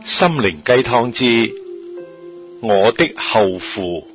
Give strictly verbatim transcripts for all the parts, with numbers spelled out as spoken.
心靈雞湯之我的後父。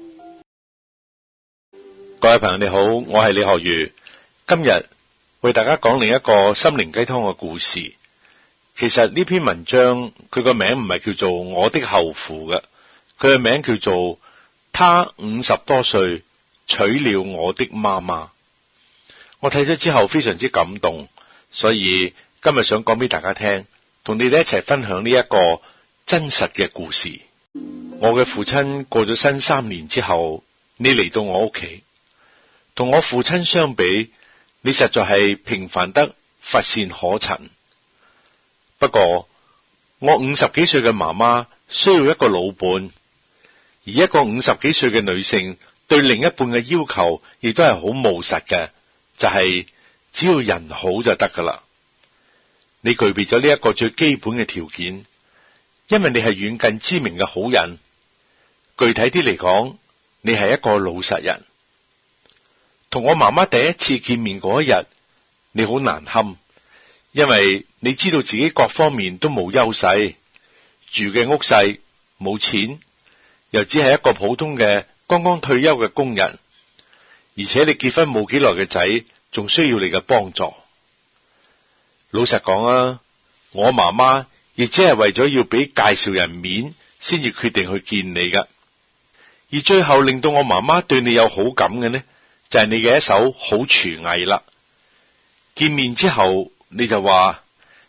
各位朋友你好，我係李學儒，今日為大家講另一個心靈雞湯嘅故事。其實呢篇文章佢個名唔係叫做我的後父嘅，佢嘅名叫做他五十多歲娶了我的媽媽。我睇咗之後非常之感動，所以今日想講俾大家聽，同你哋一齊分享呢一個真實嘅故事。我嘅父親過咗身三年之後，你嚟到我屋企，同我父親相比，你實在係平凡得乏善可陳。不過我五十幾歲嘅媽媽需要一個老伴，而一個五十幾歲嘅女性對另一半嘅要求亦都係好務實嘅，就係只要人好就得噶啦。你具備咗呢一個最基本嘅條件，因為你係遠近知名嘅好人。具體啲嚟講，你係一個老實人。同我媽媽第一次見面嗰一日，你好難堪，因為你知道自己各方面都冇優勢，住嘅屋細，冇錢，又只係一個普通嘅剛剛退休嘅工人，而且你結婚冇幾耐嘅仔，仲需要你嘅幫助。老實講啊，我媽媽亦只係為咗要俾介紹人面，先至決定去見你噶。而最後令到我媽媽對你有好感嘅呢，就係你嘅一手好廚藝啦。見面之後，你就話：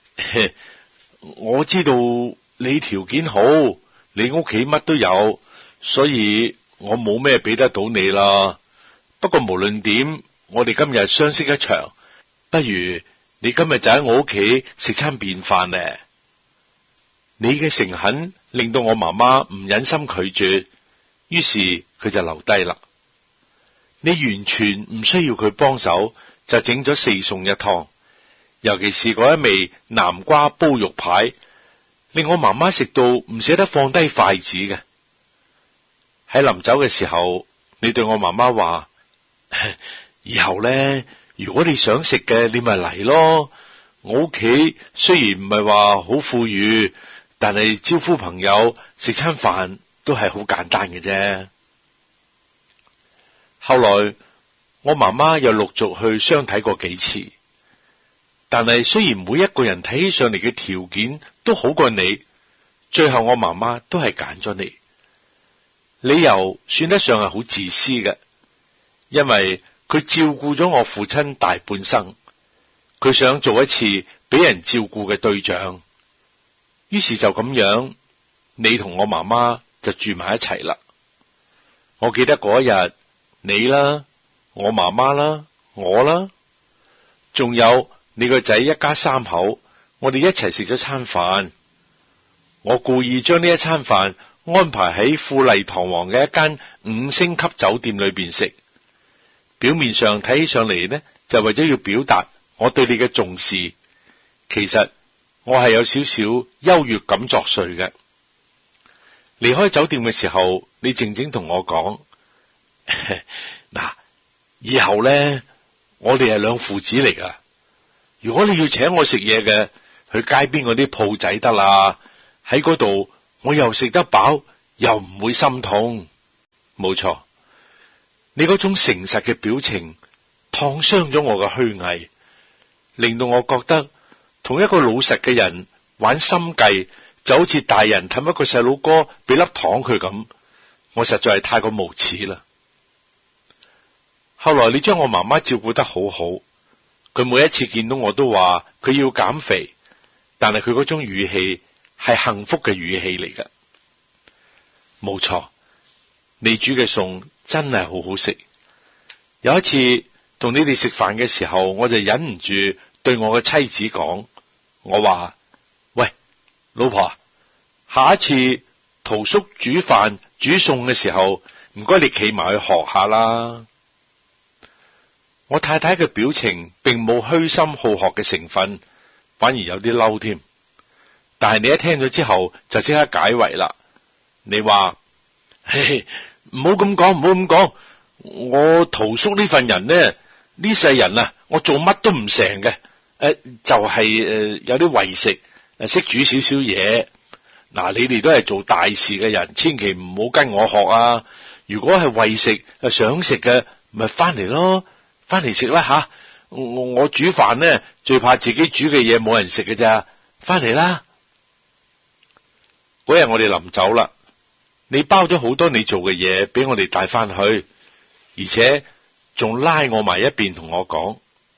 我知道你條件好，你屋企乜都有，所以我冇咩俾得到你啦。不過無論點，我哋今日相識一場，不如你今日就喺我屋企食餐便飯呢。你嘅誠懇令到我媽媽唔忍心拒絕，於是佢就留低啦。你完全唔需要佢幫手，就整咗四餸一湯，尤其是嗰一味南瓜煲肉排，令我媽媽食到唔捨得放低筷子嘅。喺臨走嘅時候，你對我媽媽話：以後咧，如果你想食嘅，你咪嚟咯。我屋企雖然唔係話好富裕，但係招呼朋友食餐飯都係好簡單嘅啫。後來我媽媽又陸續去相睇過幾次，但係雖然每一個人睇起上嚟嘅條件都好過你，最後我媽媽都係揀咗你。理由算得上係好自私嘅，因為佢照顧咗我父親大半生，佢想做一次俾人照顧嘅對象，於是就咁樣，你同我媽媽就住埋一齊啦。我記得嗰一日，你啦，我媽媽啦，我啦，仲有你個仔一家三口，我哋一齊食咗餐飯。我故意將呢一餐飯安排喺富麗堂皇嘅一間五星級酒店裏邊食，表面上睇起上嚟呢，就為咗要表達我對你嘅重視，其實我係有少少優越感作祟嘅。離開酒店嘅時候，你靜靜同我講：嗱，以後咧，我哋係兩父子嚟噶。如果你要請我食嘢嘅，去街邊嗰啲鋪仔得啦，喺嗰度我又食得飽，又唔會心痛。冇錯，你嗰種誠實嘅表情燙傷咗我嘅虛偽，令到我覺得同一個老實嘅人玩心計，就好似大人氹一個細佬哥俾粒糖佢咁，我實在係太過無恥啦。後來你將我媽媽照顧得好好，佢每一次見到我都話佢要減肥，但係佢嗰種語氣係幸福嘅語氣嚟㗎。冇錯，你煮嘅餸真係好好食。有一次同你哋食飯嘅時候，我就忍唔住對我嘅妻子講，我話：喂，老婆，下一次陶叔煮飯煮餸嘅時候，唔該你企埋去學下啦。我太太嘅表情並冇虛心好學嘅成分，反而有啲嬲添。但係你一聽咗之後就即刻解圍啦。你話：嘿，唔好咁講，唔好咁講。我陶叔呢份人呢，呢世人啊，我做乜都唔成嘅。誒、呃，就係、是、誒、呃、有啲為食，誒識煮少少嘢。 嗱，你哋都係做大事嘅人，千祈唔好跟我學啊！如果係為食想食嘅，咪翻嚟咯，翻嚟食啦吓！我我煮飯呢，最怕自己煮嘅嘢冇人食嘅咋，翻嚟啦！嗰日我哋臨走啦，你包咗好多你做嘅嘢俾我哋帶翻去，而且仲拉我埋一邊同我講，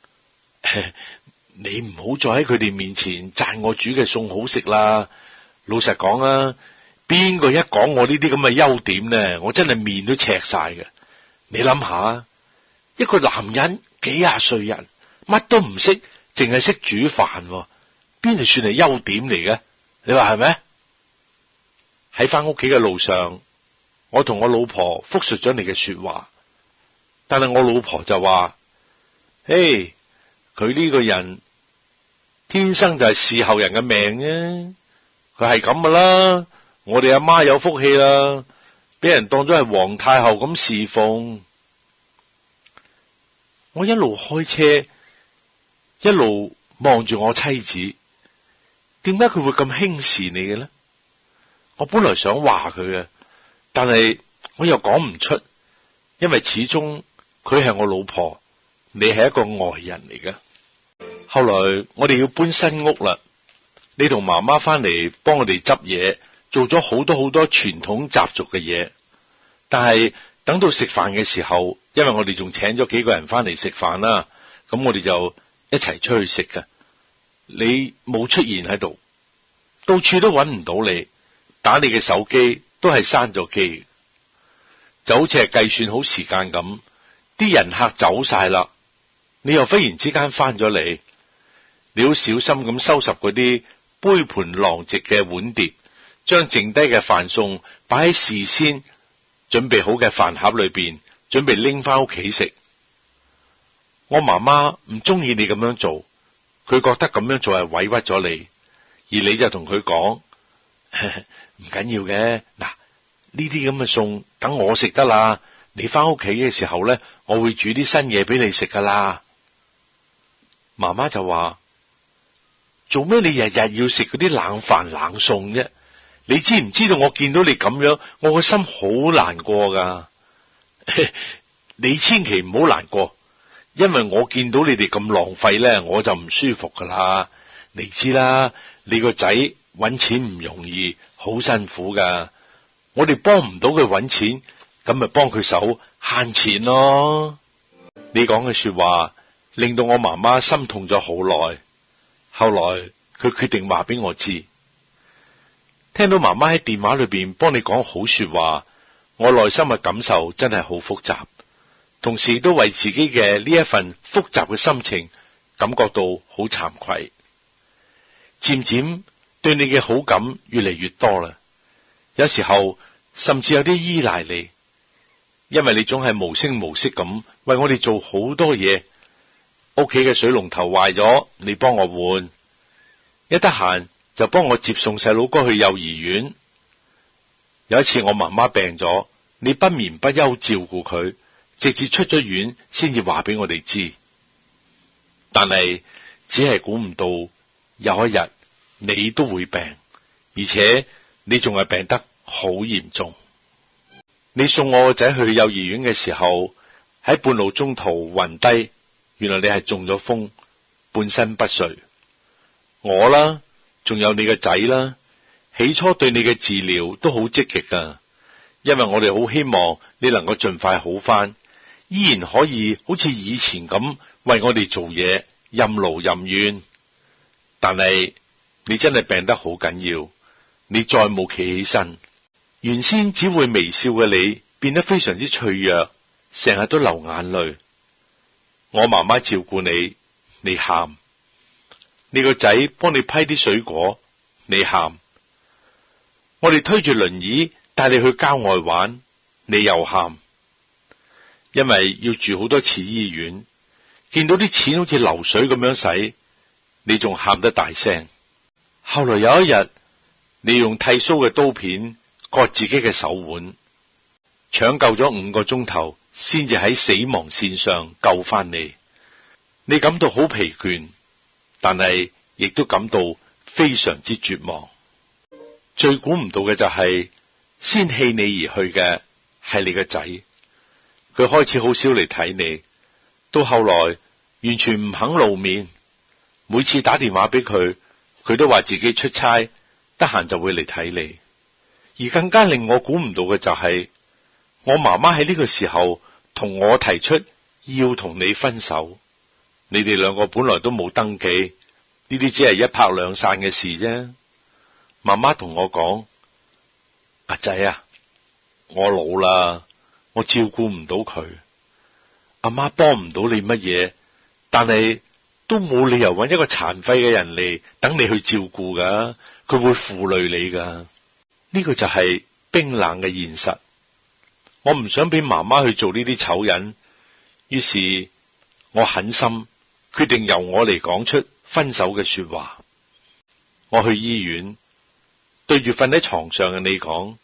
你唔好再喺佢哋面前讚我煮嘅餸好食啦。老實講啊，邊個一講我呢啲咁嘅優點呢，我真係面都赤晒嘅。你諗下，一個男人幾廿歲人，乜都唔識，淨係識煮飯，邊度算係優點嚟嘅？你話係咪？喺翻屋企嘅路上，我同我老婆複述咗你嘅說話，但係我老婆就話：嘿，佢呢個人天生就係伺候人嘅命啫。佢係咁噶啦，我哋阿媽有福氣啦，俾人當咗係皇太后咁侍奉。我一路開車，一路望住我妻子，點解佢會咁輕視你嘅呢？我本來想話佢嘅，但係我又講唔出，因為始終佢係我老婆，你係一個外人嚟嘅。後來我哋要搬新屋啦。你同媽媽翻嚟幫我哋執嘢，做咗好多好多傳統習俗嘅嘢。但係等到食飯嘅時候，因為我哋仲請咗幾個人翻嚟食飯啦，咁我哋就一齊出去食㗎。你冇出現喺度，到處都揾唔到你，打你嘅手機都係閂咗機，就好似係計算好時間咁。啲人客走晒啦，你又忽然之間翻咗嚟，你好小心咁收拾嗰啲杯盤狼藉嘅碗碟，將剩低嘅飯餸擺喺事先準備好嘅飯盒裏邊，準備拎翻屋企食。我媽媽唔中意你咁樣做，佢覺得咁樣做係委屈咗你，而你就同佢講，唔緊要嘅，嗱，呢啲咁嘅餸等我食得啦，你翻屋企嘅時候咧，我會煮啲新嘢俾你食噶啦。媽媽就話：做咩你日日要食嗰啲冷飯冷餸啫？你知唔知道我見到你咁樣，我個心好難過噶。你千祈唔好難過，因為我見到你哋咁浪費咧，我就唔舒服噶啦。你知啦，你個仔搵錢唔容易，好辛苦噶。我哋幫唔到佢搵錢，咁咪幫佢手慳錢咯。你講嘅說話令到我媽媽心痛咗好耐。後來佢決定話俾我知，聽到媽媽喺電話裏邊幫你講好說話，我內心嘅感受真係好複雜，同時都為自己嘅呢一份複雜嘅心情感覺到好慚愧。漸漸對你嘅好感越嚟越多啦，有時候甚至有啲依賴你，因為你總係無聲無息咁為我哋做好多嘢。屋企嘅水龍頭壞咗，你幫我換；一得閒就幫我接送細佬哥去幼兒園。有一次我媽媽病咗，你不眠不休照顧佢，直至出咗院先至話俾我哋知。但係只係估唔到有一日你都會病，而且你仲係病得好嚴重。你送我個仔去幼兒園嘅時候，喺半路中途暈低。原來你係中咗風，半身不遂。我啦，仲有你個仔啦，起初對你嘅治療都好積極噶，因為我哋好希望你能夠盡快好返，依然可以好似以前咁為我哋做嘢，任勞任怨。但係你真係病得好緊要，你再冇企起身，原先只會微笑嘅你，變得非常之脆弱，成日都流眼淚。我媽媽照顧你，你喊；你個仔幫你批啲水果，你喊；我哋推住輪椅帶你去郊外玩，你又喊。因為要住好多次醫院，見到啲錢好似流水咁樣使，你仲喊得大聲。後來有一日，你用剃鬚嘅刀片割自己嘅手腕，搶救咗五個鐘頭。先至喺死亡線上救翻你，你感到好疲倦，但係亦都感到非常之絕望。 最估唔到嘅就係、是、先棄你而去嘅係你個仔，佢開始好少嚟睇你，到後來完全唔肯露面，每次打電話俾佢，佢都話自己出差，得閒就會嚟睇你。而更加令我估唔到嘅就係、是、我媽媽喺呢個時候同我提出要同你分手。你哋兩個本來都冇登記，呢啲只係一拍兩散嘅事啫。媽媽同我講：阿仔啊，我老啦，我照顧唔到佢，阿媽幫唔到你乜嘢，但係都冇理由揾一個殘廢嘅人嚟等你去照顧噶，佢會負累你噶。呢個就係冰冷嘅現實。我唔想俾媽媽去做呢啲醜人，於是我狠心決定由我嚟講出分手嘅說話。我去醫院對住瞓喺床上嘅你講：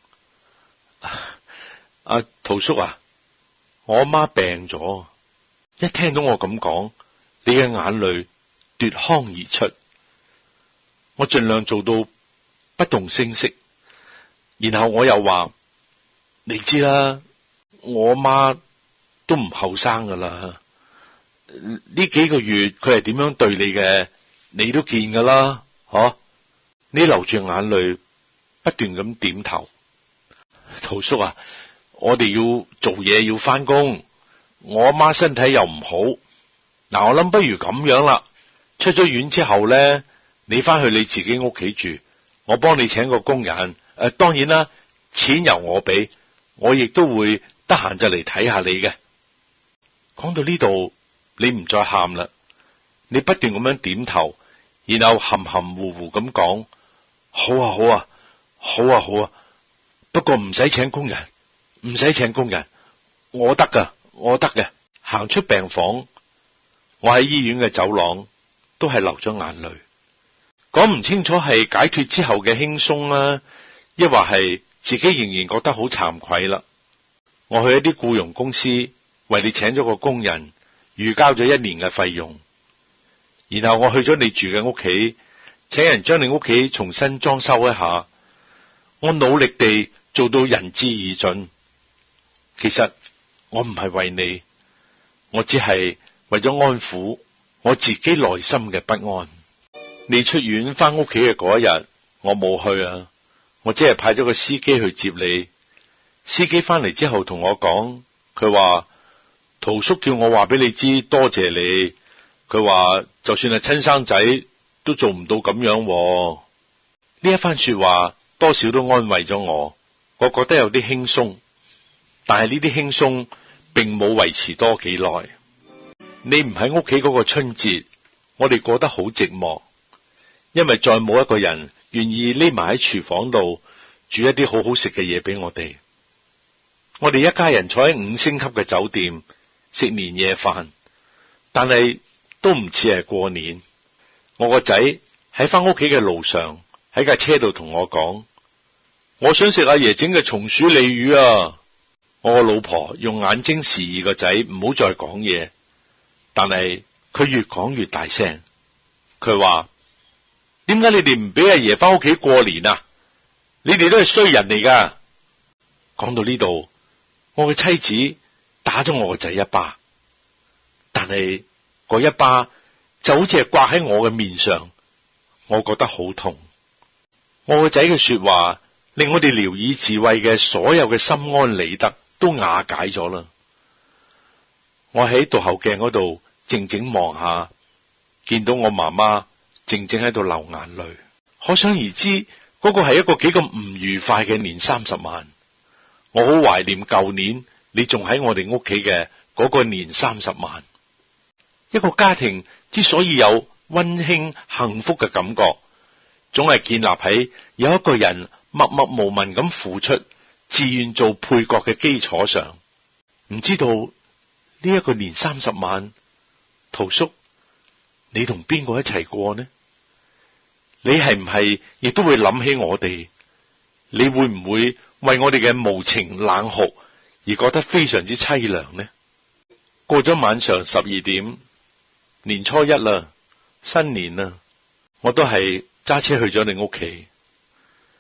阿陶叔啊，我阿媽病咗。一聽到我咁講，你嘅眼淚奪眶而出。我盡量做到不動聲色，然後我又話：你知啦，我阿媽都唔後生噶啦，呢幾個月佢係點樣對你嘅，你都見噶啦，嗬、啊？你流住眼淚，不斷咁點頭。陶叔啊，我哋要做嘢，要翻工，我阿媽身體又唔好，嗱，我諗不如咁樣啦，出咗院之後咧，你翻去你自己屋企住，我幫你請個工人，誒、呃，當然啦，錢由我俾，我亦都會得閒就嚟睇下你嘅。講到呢度，你唔再喊啦，你不斷咁樣點頭，然後含含糊糊咁講：好啊，好啊，好啊，好啊，不過唔使請工人，唔使請工人，我得噶，我得嘅。行出病房，我喺醫院嘅走廊都係流咗眼淚，講唔清楚係解脫之後嘅輕鬆啦，抑或係自己仍然覺得好慚愧啦。我去一啲僱傭公司為你請咗個工人，預交咗一年嘅費用，然後我去咗你住嘅屋企，請人將你屋企重新裝修一下，我努力地做到仁至義盡。其實我唔係為你，我只係為咗安撫我自己內心嘅不安。你出院翻屋企嘅嗰一日，我冇去啊，我只係派咗個司機去接你。司機翻嚟之後同我講，佢話陶叔叫我話俾你知，多謝你。佢話就算係親生仔都做唔到咁樣。呢一番說話多少都安慰咗我，我覺得有啲輕鬆。但係呢啲輕鬆並冇維持多幾耐。你唔喺屋企嗰個春節，我哋過得好寂寞，因為再冇一個人願意匿埋喺廚房度煮一啲好好食嘅嘢俾我哋。我哋一家人坐喺五星級嘅酒店食年夜飯，但係都唔似係過年。我個仔喺翻屋企嘅路上喺架車度同我講：我想食阿爺整嘅松鼠鯉魚啊！我個老婆用眼睛示意個仔唔好再講嘢，但係佢越講越大聲。佢話：點解你哋唔俾阿爺翻屋企過年啊？你哋都係衰人嚟噶！講到呢度，我嘅妻子打咗我個仔一巴，但係嗰一巴就好似係刮喺我嘅面上，我覺得好痛。我個仔嘅說話令我哋聊以自慰嘅所有嘅心安理得都瓦解咗啦。我喺倒後鏡嗰度靜靜望下，見到我媽媽靜靜喺度流眼淚，可想而知嗰個係一個幾咁唔愉快嘅年三十晚。我好懷念舊年你仲喺我哋屋企嘅嗰個年三十晚。一個家庭之所以有溫馨幸福嘅感覺，總係建立喺有一個人默默無聞咁付出，自願做配角嘅基礎上。唔知道呢一個年三十晚，陶叔你同邊個一齊過呢？你係唔係亦都會諗起我哋？你會唔會為我哋嘅無情冷酷而覺得非常之淒涼呢？過咗晚上十二點，年初一啦，新年啦，我都係揸車去咗你屋企。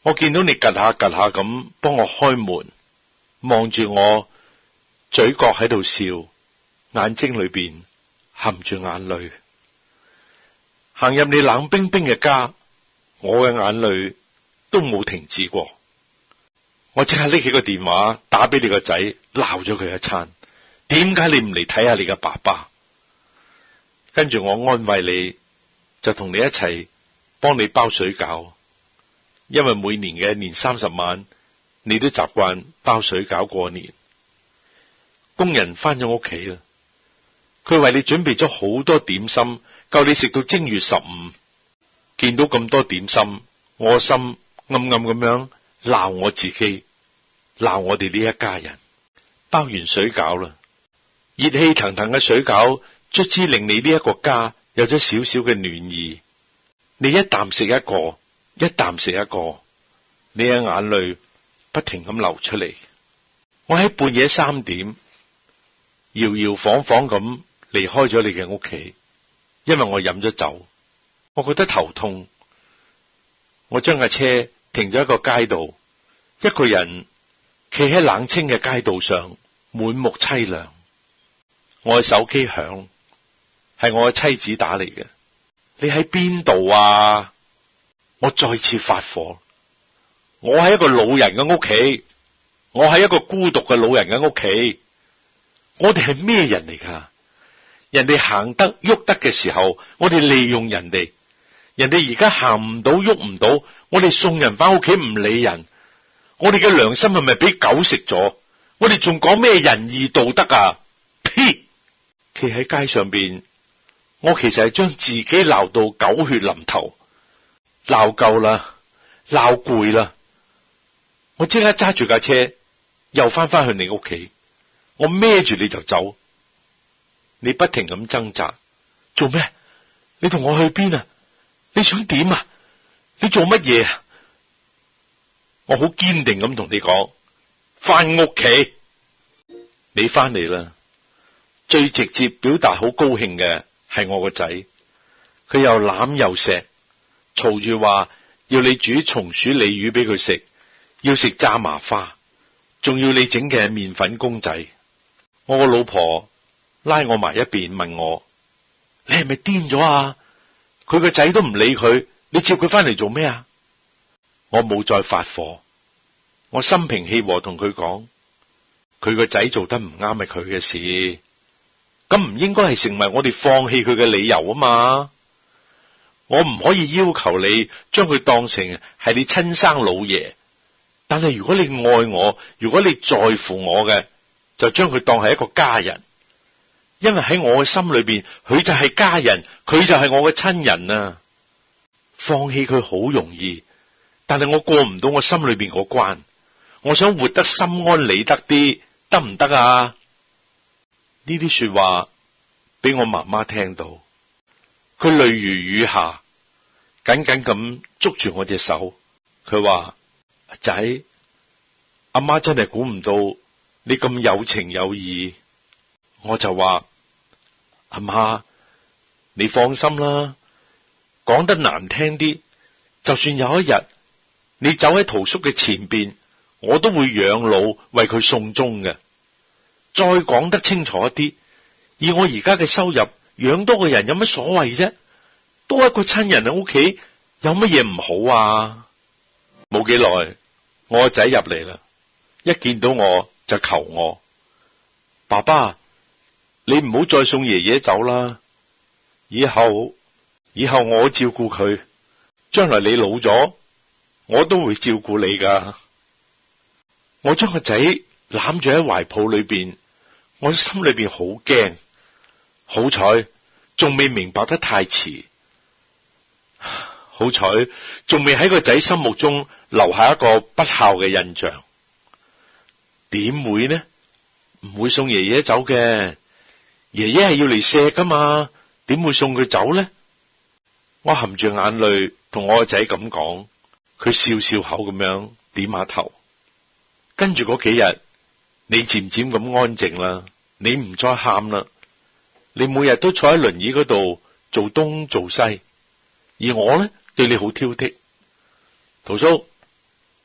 我見到你趷下趷下咁幫我開門，望住我，嘴角喺度笑，眼睛裏邊含住眼淚。行入你冷冰冰嘅家，我嘅眼淚都冇停止過。我即刻拎起個電話打俾你個仔，鬧咗佢一餐。點解你唔嚟睇下你嘅爸爸？跟住我安慰你，就同你一齊幫你包水餃，因為每年嘅年三十晚，你都習慣包水餃過年。工人翻咗屋企啦，佢為你準備咗好多點心，夠你食到正月十五。見到咁多點心，我心暗暗咁樣鬧我自己，鬧我哋呢一家人。包完水餃啦，熱氣騰騰嘅水餃卒之令你呢一個家有咗少少嘅暖意。你一啖食一個，一啖食一個，你嘅眼淚不停咁流出嚟。我喺半夜三點搖搖晃晃咁離開咗你嘅屋企，因為我飲咗酒，我覺得頭痛。我將架車停咗喺個街道，一個人企喺冷清嘅街道上，滿目淒涼。我嘅手機響，係我嘅妻子打嚟嘅。你喺邊度啊？我再次發火。我喺一個老人嘅屋企，我喺一個孤獨嘅老人嘅屋企。我哋係咩人嚟㗎？人哋行得喐得嘅時候，我哋利用人哋。人哋而家行唔到喐唔到，我哋送人翻屋企唔理人。我哋嘅良心係咪俾狗食咗？我哋仲講咩仁義道德啊？呸！企喺街上邊，我其實係將自己鬧到狗血淋頭，鬧夠啦，鬧攰啦。我即刻揸住架車，又翻返去你屋企。我孭住你就走，你不停咁掙扎，做咩？你同我去邊啊？你想點啊？你做乜嘢啊？我好堅定咁同你講，翻屋企。你翻嚟啦，最直接表達好高興嘅係我個仔，佢又攬又錫，嘈住話要你煮松鼠鯉魚俾佢食，要食炸麻花，仲要你整嘅麵粉公仔。我個老婆拉我埋一邊問我，你係咪癲咗啊？佢個仔都唔理佢，你接佢翻嚟做咩啊？我冇再發火，我心平氣和同佢講，佢個仔做得唔啱係佢嘅事，咁唔應該係成為我哋放棄佢嘅理由啊嘛。我唔可以要求你將佢當成係你親生老爺，但係如果你愛我，如果你在乎我嘅，就將佢當係一個家人，因為喺我嘅心裏邊，佢就係家人，佢就係我嘅親人啊。放棄佢好容易，但係我過唔到我心裏邊嗰關。我想活得心安理得啲，得唔得啊？呢啲說話俾我媽媽聽到，佢淚如雨下，緊緊咁捉住我隻手。佢話：阿仔，阿媽真係估唔到你咁有情有義。我就話：阿媽，你放心啦，講得難聽啲，就算有一日你走喺屠叔嘅前邊，我都會養老為佢送終嘅。再講得清楚一啲，以我而家嘅收入，養多個人有乜所謂啫？多一個親人喺屋企，有乜嘢唔好啊？冇幾耐，我個仔入嚟啦，一見到我就求我：爸爸，你唔好再送爺爺走啦，以後以後我照顧佢，將來你老咗，我都會照顧你噶。我將個仔攬住喺懷抱裏邊，我心裏邊好驚，好彩仲未明白得太遲，好彩仲未喺個仔心目中留下一個不孝嘅印象。點會呢？唔會送爺爺走嘅，爺爺係要嚟錫噶嘛，點會送佢走呢？我含住眼淚同我個仔咁講，佢笑笑口咁樣點下頭。跟住嗰幾日，你漸漸咁安靜啦，你唔再喊啦，你每日都坐喺輪椅嗰度做東做西，而我呢，對你好挑剔。屠叔，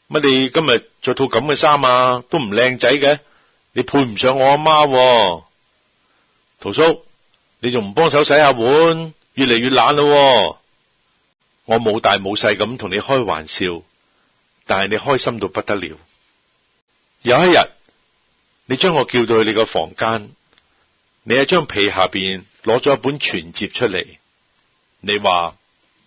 乜你今日着套咁嘅衫啊，都唔靚仔嘅，你配唔上我阿媽喎。陶叔，你仲唔幫手洗下碗，越嚟越懶咯。我冇大冇細咁同你開玩笑，但係你開心到不得了。有一日，你將我叫到去你個房間，你喺張被下邊攞咗一本存摺出嚟，你話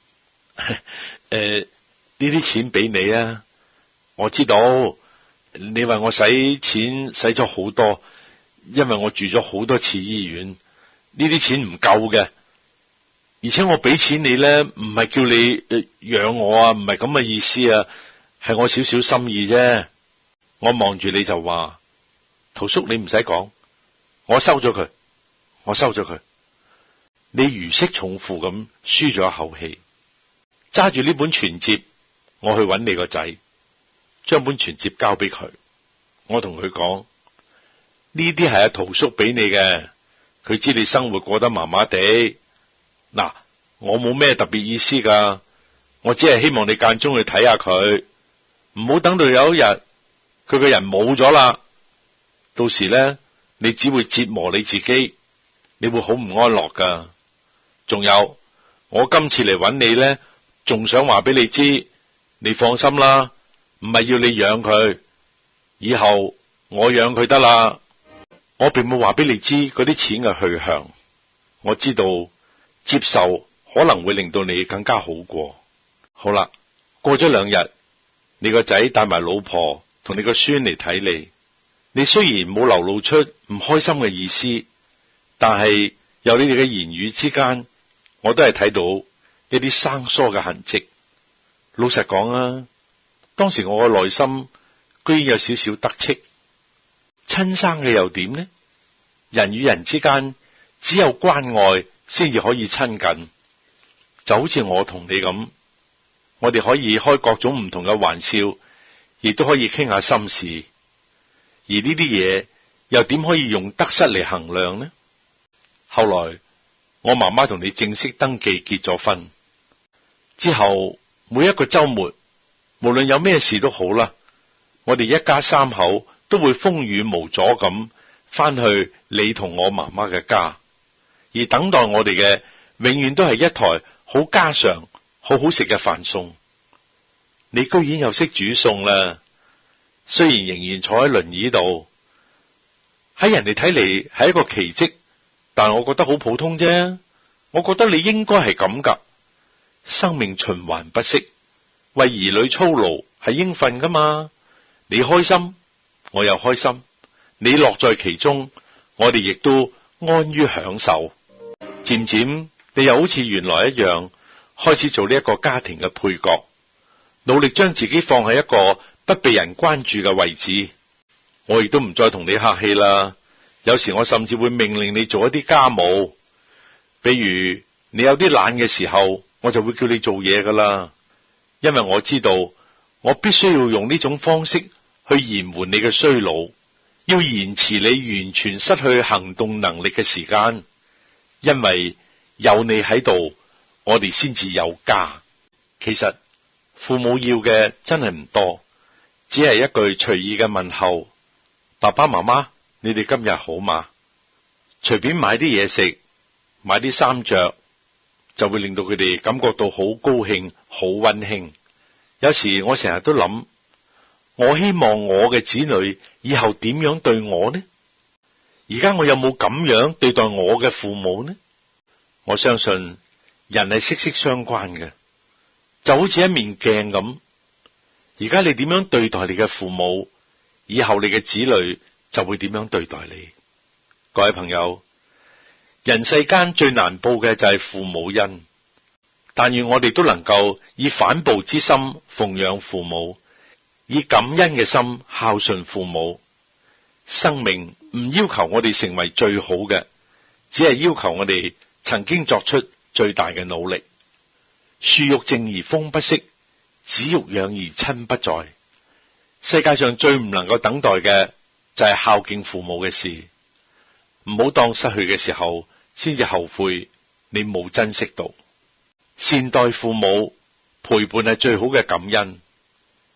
誒，呢啲錢俾你啊，我知道你為我使錢使咗好多，因為我住咗好多次醫院，呢啲錢唔夠嘅，而且我俾錢你咧，唔係叫你養我啊，唔係咁嘅意思啊，係我少少心意啫。我望住你就話，陶叔，你唔使講，我收咗佢，我收咗佢。你如釋重負咁舒咗一口氣，揸住呢本存摺，我去揾你個仔，將本存摺交俾佢。我同佢講，呢啲係阿陶叔俾你嘅，佢知你生活過得麻麻地。嗱，我冇咩特別意思噶，我只係希望你間中去睇下佢，唔好等到有一日佢個人冇咗啦，到時咧你只會折磨你自己，你會好唔安樂噶。仲有，我今次嚟揾你咧，仲想話俾你知，你放心啦，唔係要你養佢，以後我養佢得啦。我並冇話俾你知嗰啲錢嘅去向，我知道接受可能會令到你更加好過。好啦，過咗兩日，你個仔帶埋老婆同你個孫嚟睇你，你雖然冇流露出唔開心嘅意思，但係由你哋嘅言語之間，我都係睇到一啲生疏嘅痕跡。老實講啊，當時我嘅內心居然有少少得戚。親生嘅又點呢？人與人之間只有關愛先至可以親近，就好似我同你咁，我哋可以開各種唔同嘅玩笑，亦都可以傾下心事。而呢啲嘢又點可以用得失嚟衡量呢？後來我媽媽同你正式登記結咗婚之後，每一個週末，無論有咩事都好啦，我哋一家三口都會風雨無阻咁翻去你同我媽媽嘅家，而等待我哋嘅永遠都係一台好家常、好好食嘅飯餸。你居然又識煮餸啦！雖然仍然坐喺輪椅度，喺人哋睇嚟係一個奇蹟，但我覺得好普通啫。我覺得你應該係咁噶，生命循環不息，為兒女操勞係應份噶嘛。你開心，我又開心，你樂在其中，我哋亦都安於享受。漸漸，你又好似原來一樣，開始做呢一個家庭嘅配角，努力將自己放喺一個不被人關注嘅位置。我亦都唔再同你客氣啦。有時我甚至會命令你做一啲家務，比如你有啲懶嘅時候，我就會叫你做嘢噶啦。因為我知道，我必須要用呢種方式去延緩你嘅衰老，要延遲你完全失去行動能力嘅時間。因為有你喺度，我哋先至有家。其實父母要嘅真係唔多，只係一句隨意嘅問候：爸爸媽媽，你哋今日好嗎？隨便買啲嘢食，買啲衫着，就會令到佢哋感覺到好高興、好溫馨。有時我成日都諗，我希望我嘅子女以後點樣對我呢？而家我有冇咁樣對待我嘅父母呢？我相信人係息息相關嘅，就好似一面鏡咁。而家你點樣對待你嘅父母，以後你嘅子女就會點樣對待你。各位朋友，人世間最難報嘅就係父母恩，但願我哋都能夠以反哺之心奉養父母，以感恩嘅心孝順父母。生命唔要求我哋成為最好嘅，只係要求我哋曾經作出最大嘅努力。樹欲靜而風不息，子欲養而親不在。世界上最唔能夠等待嘅就係孝敬父母嘅事。唔好當失去嘅時候先至後悔你冇珍惜到。善待父母，陪伴係最好嘅感恩。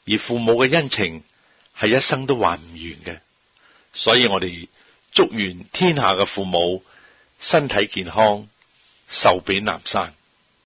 而父母嘅恩情係一生都還唔完嘅。所以我哋祝願天下嘅父母身體健康，壽比南山。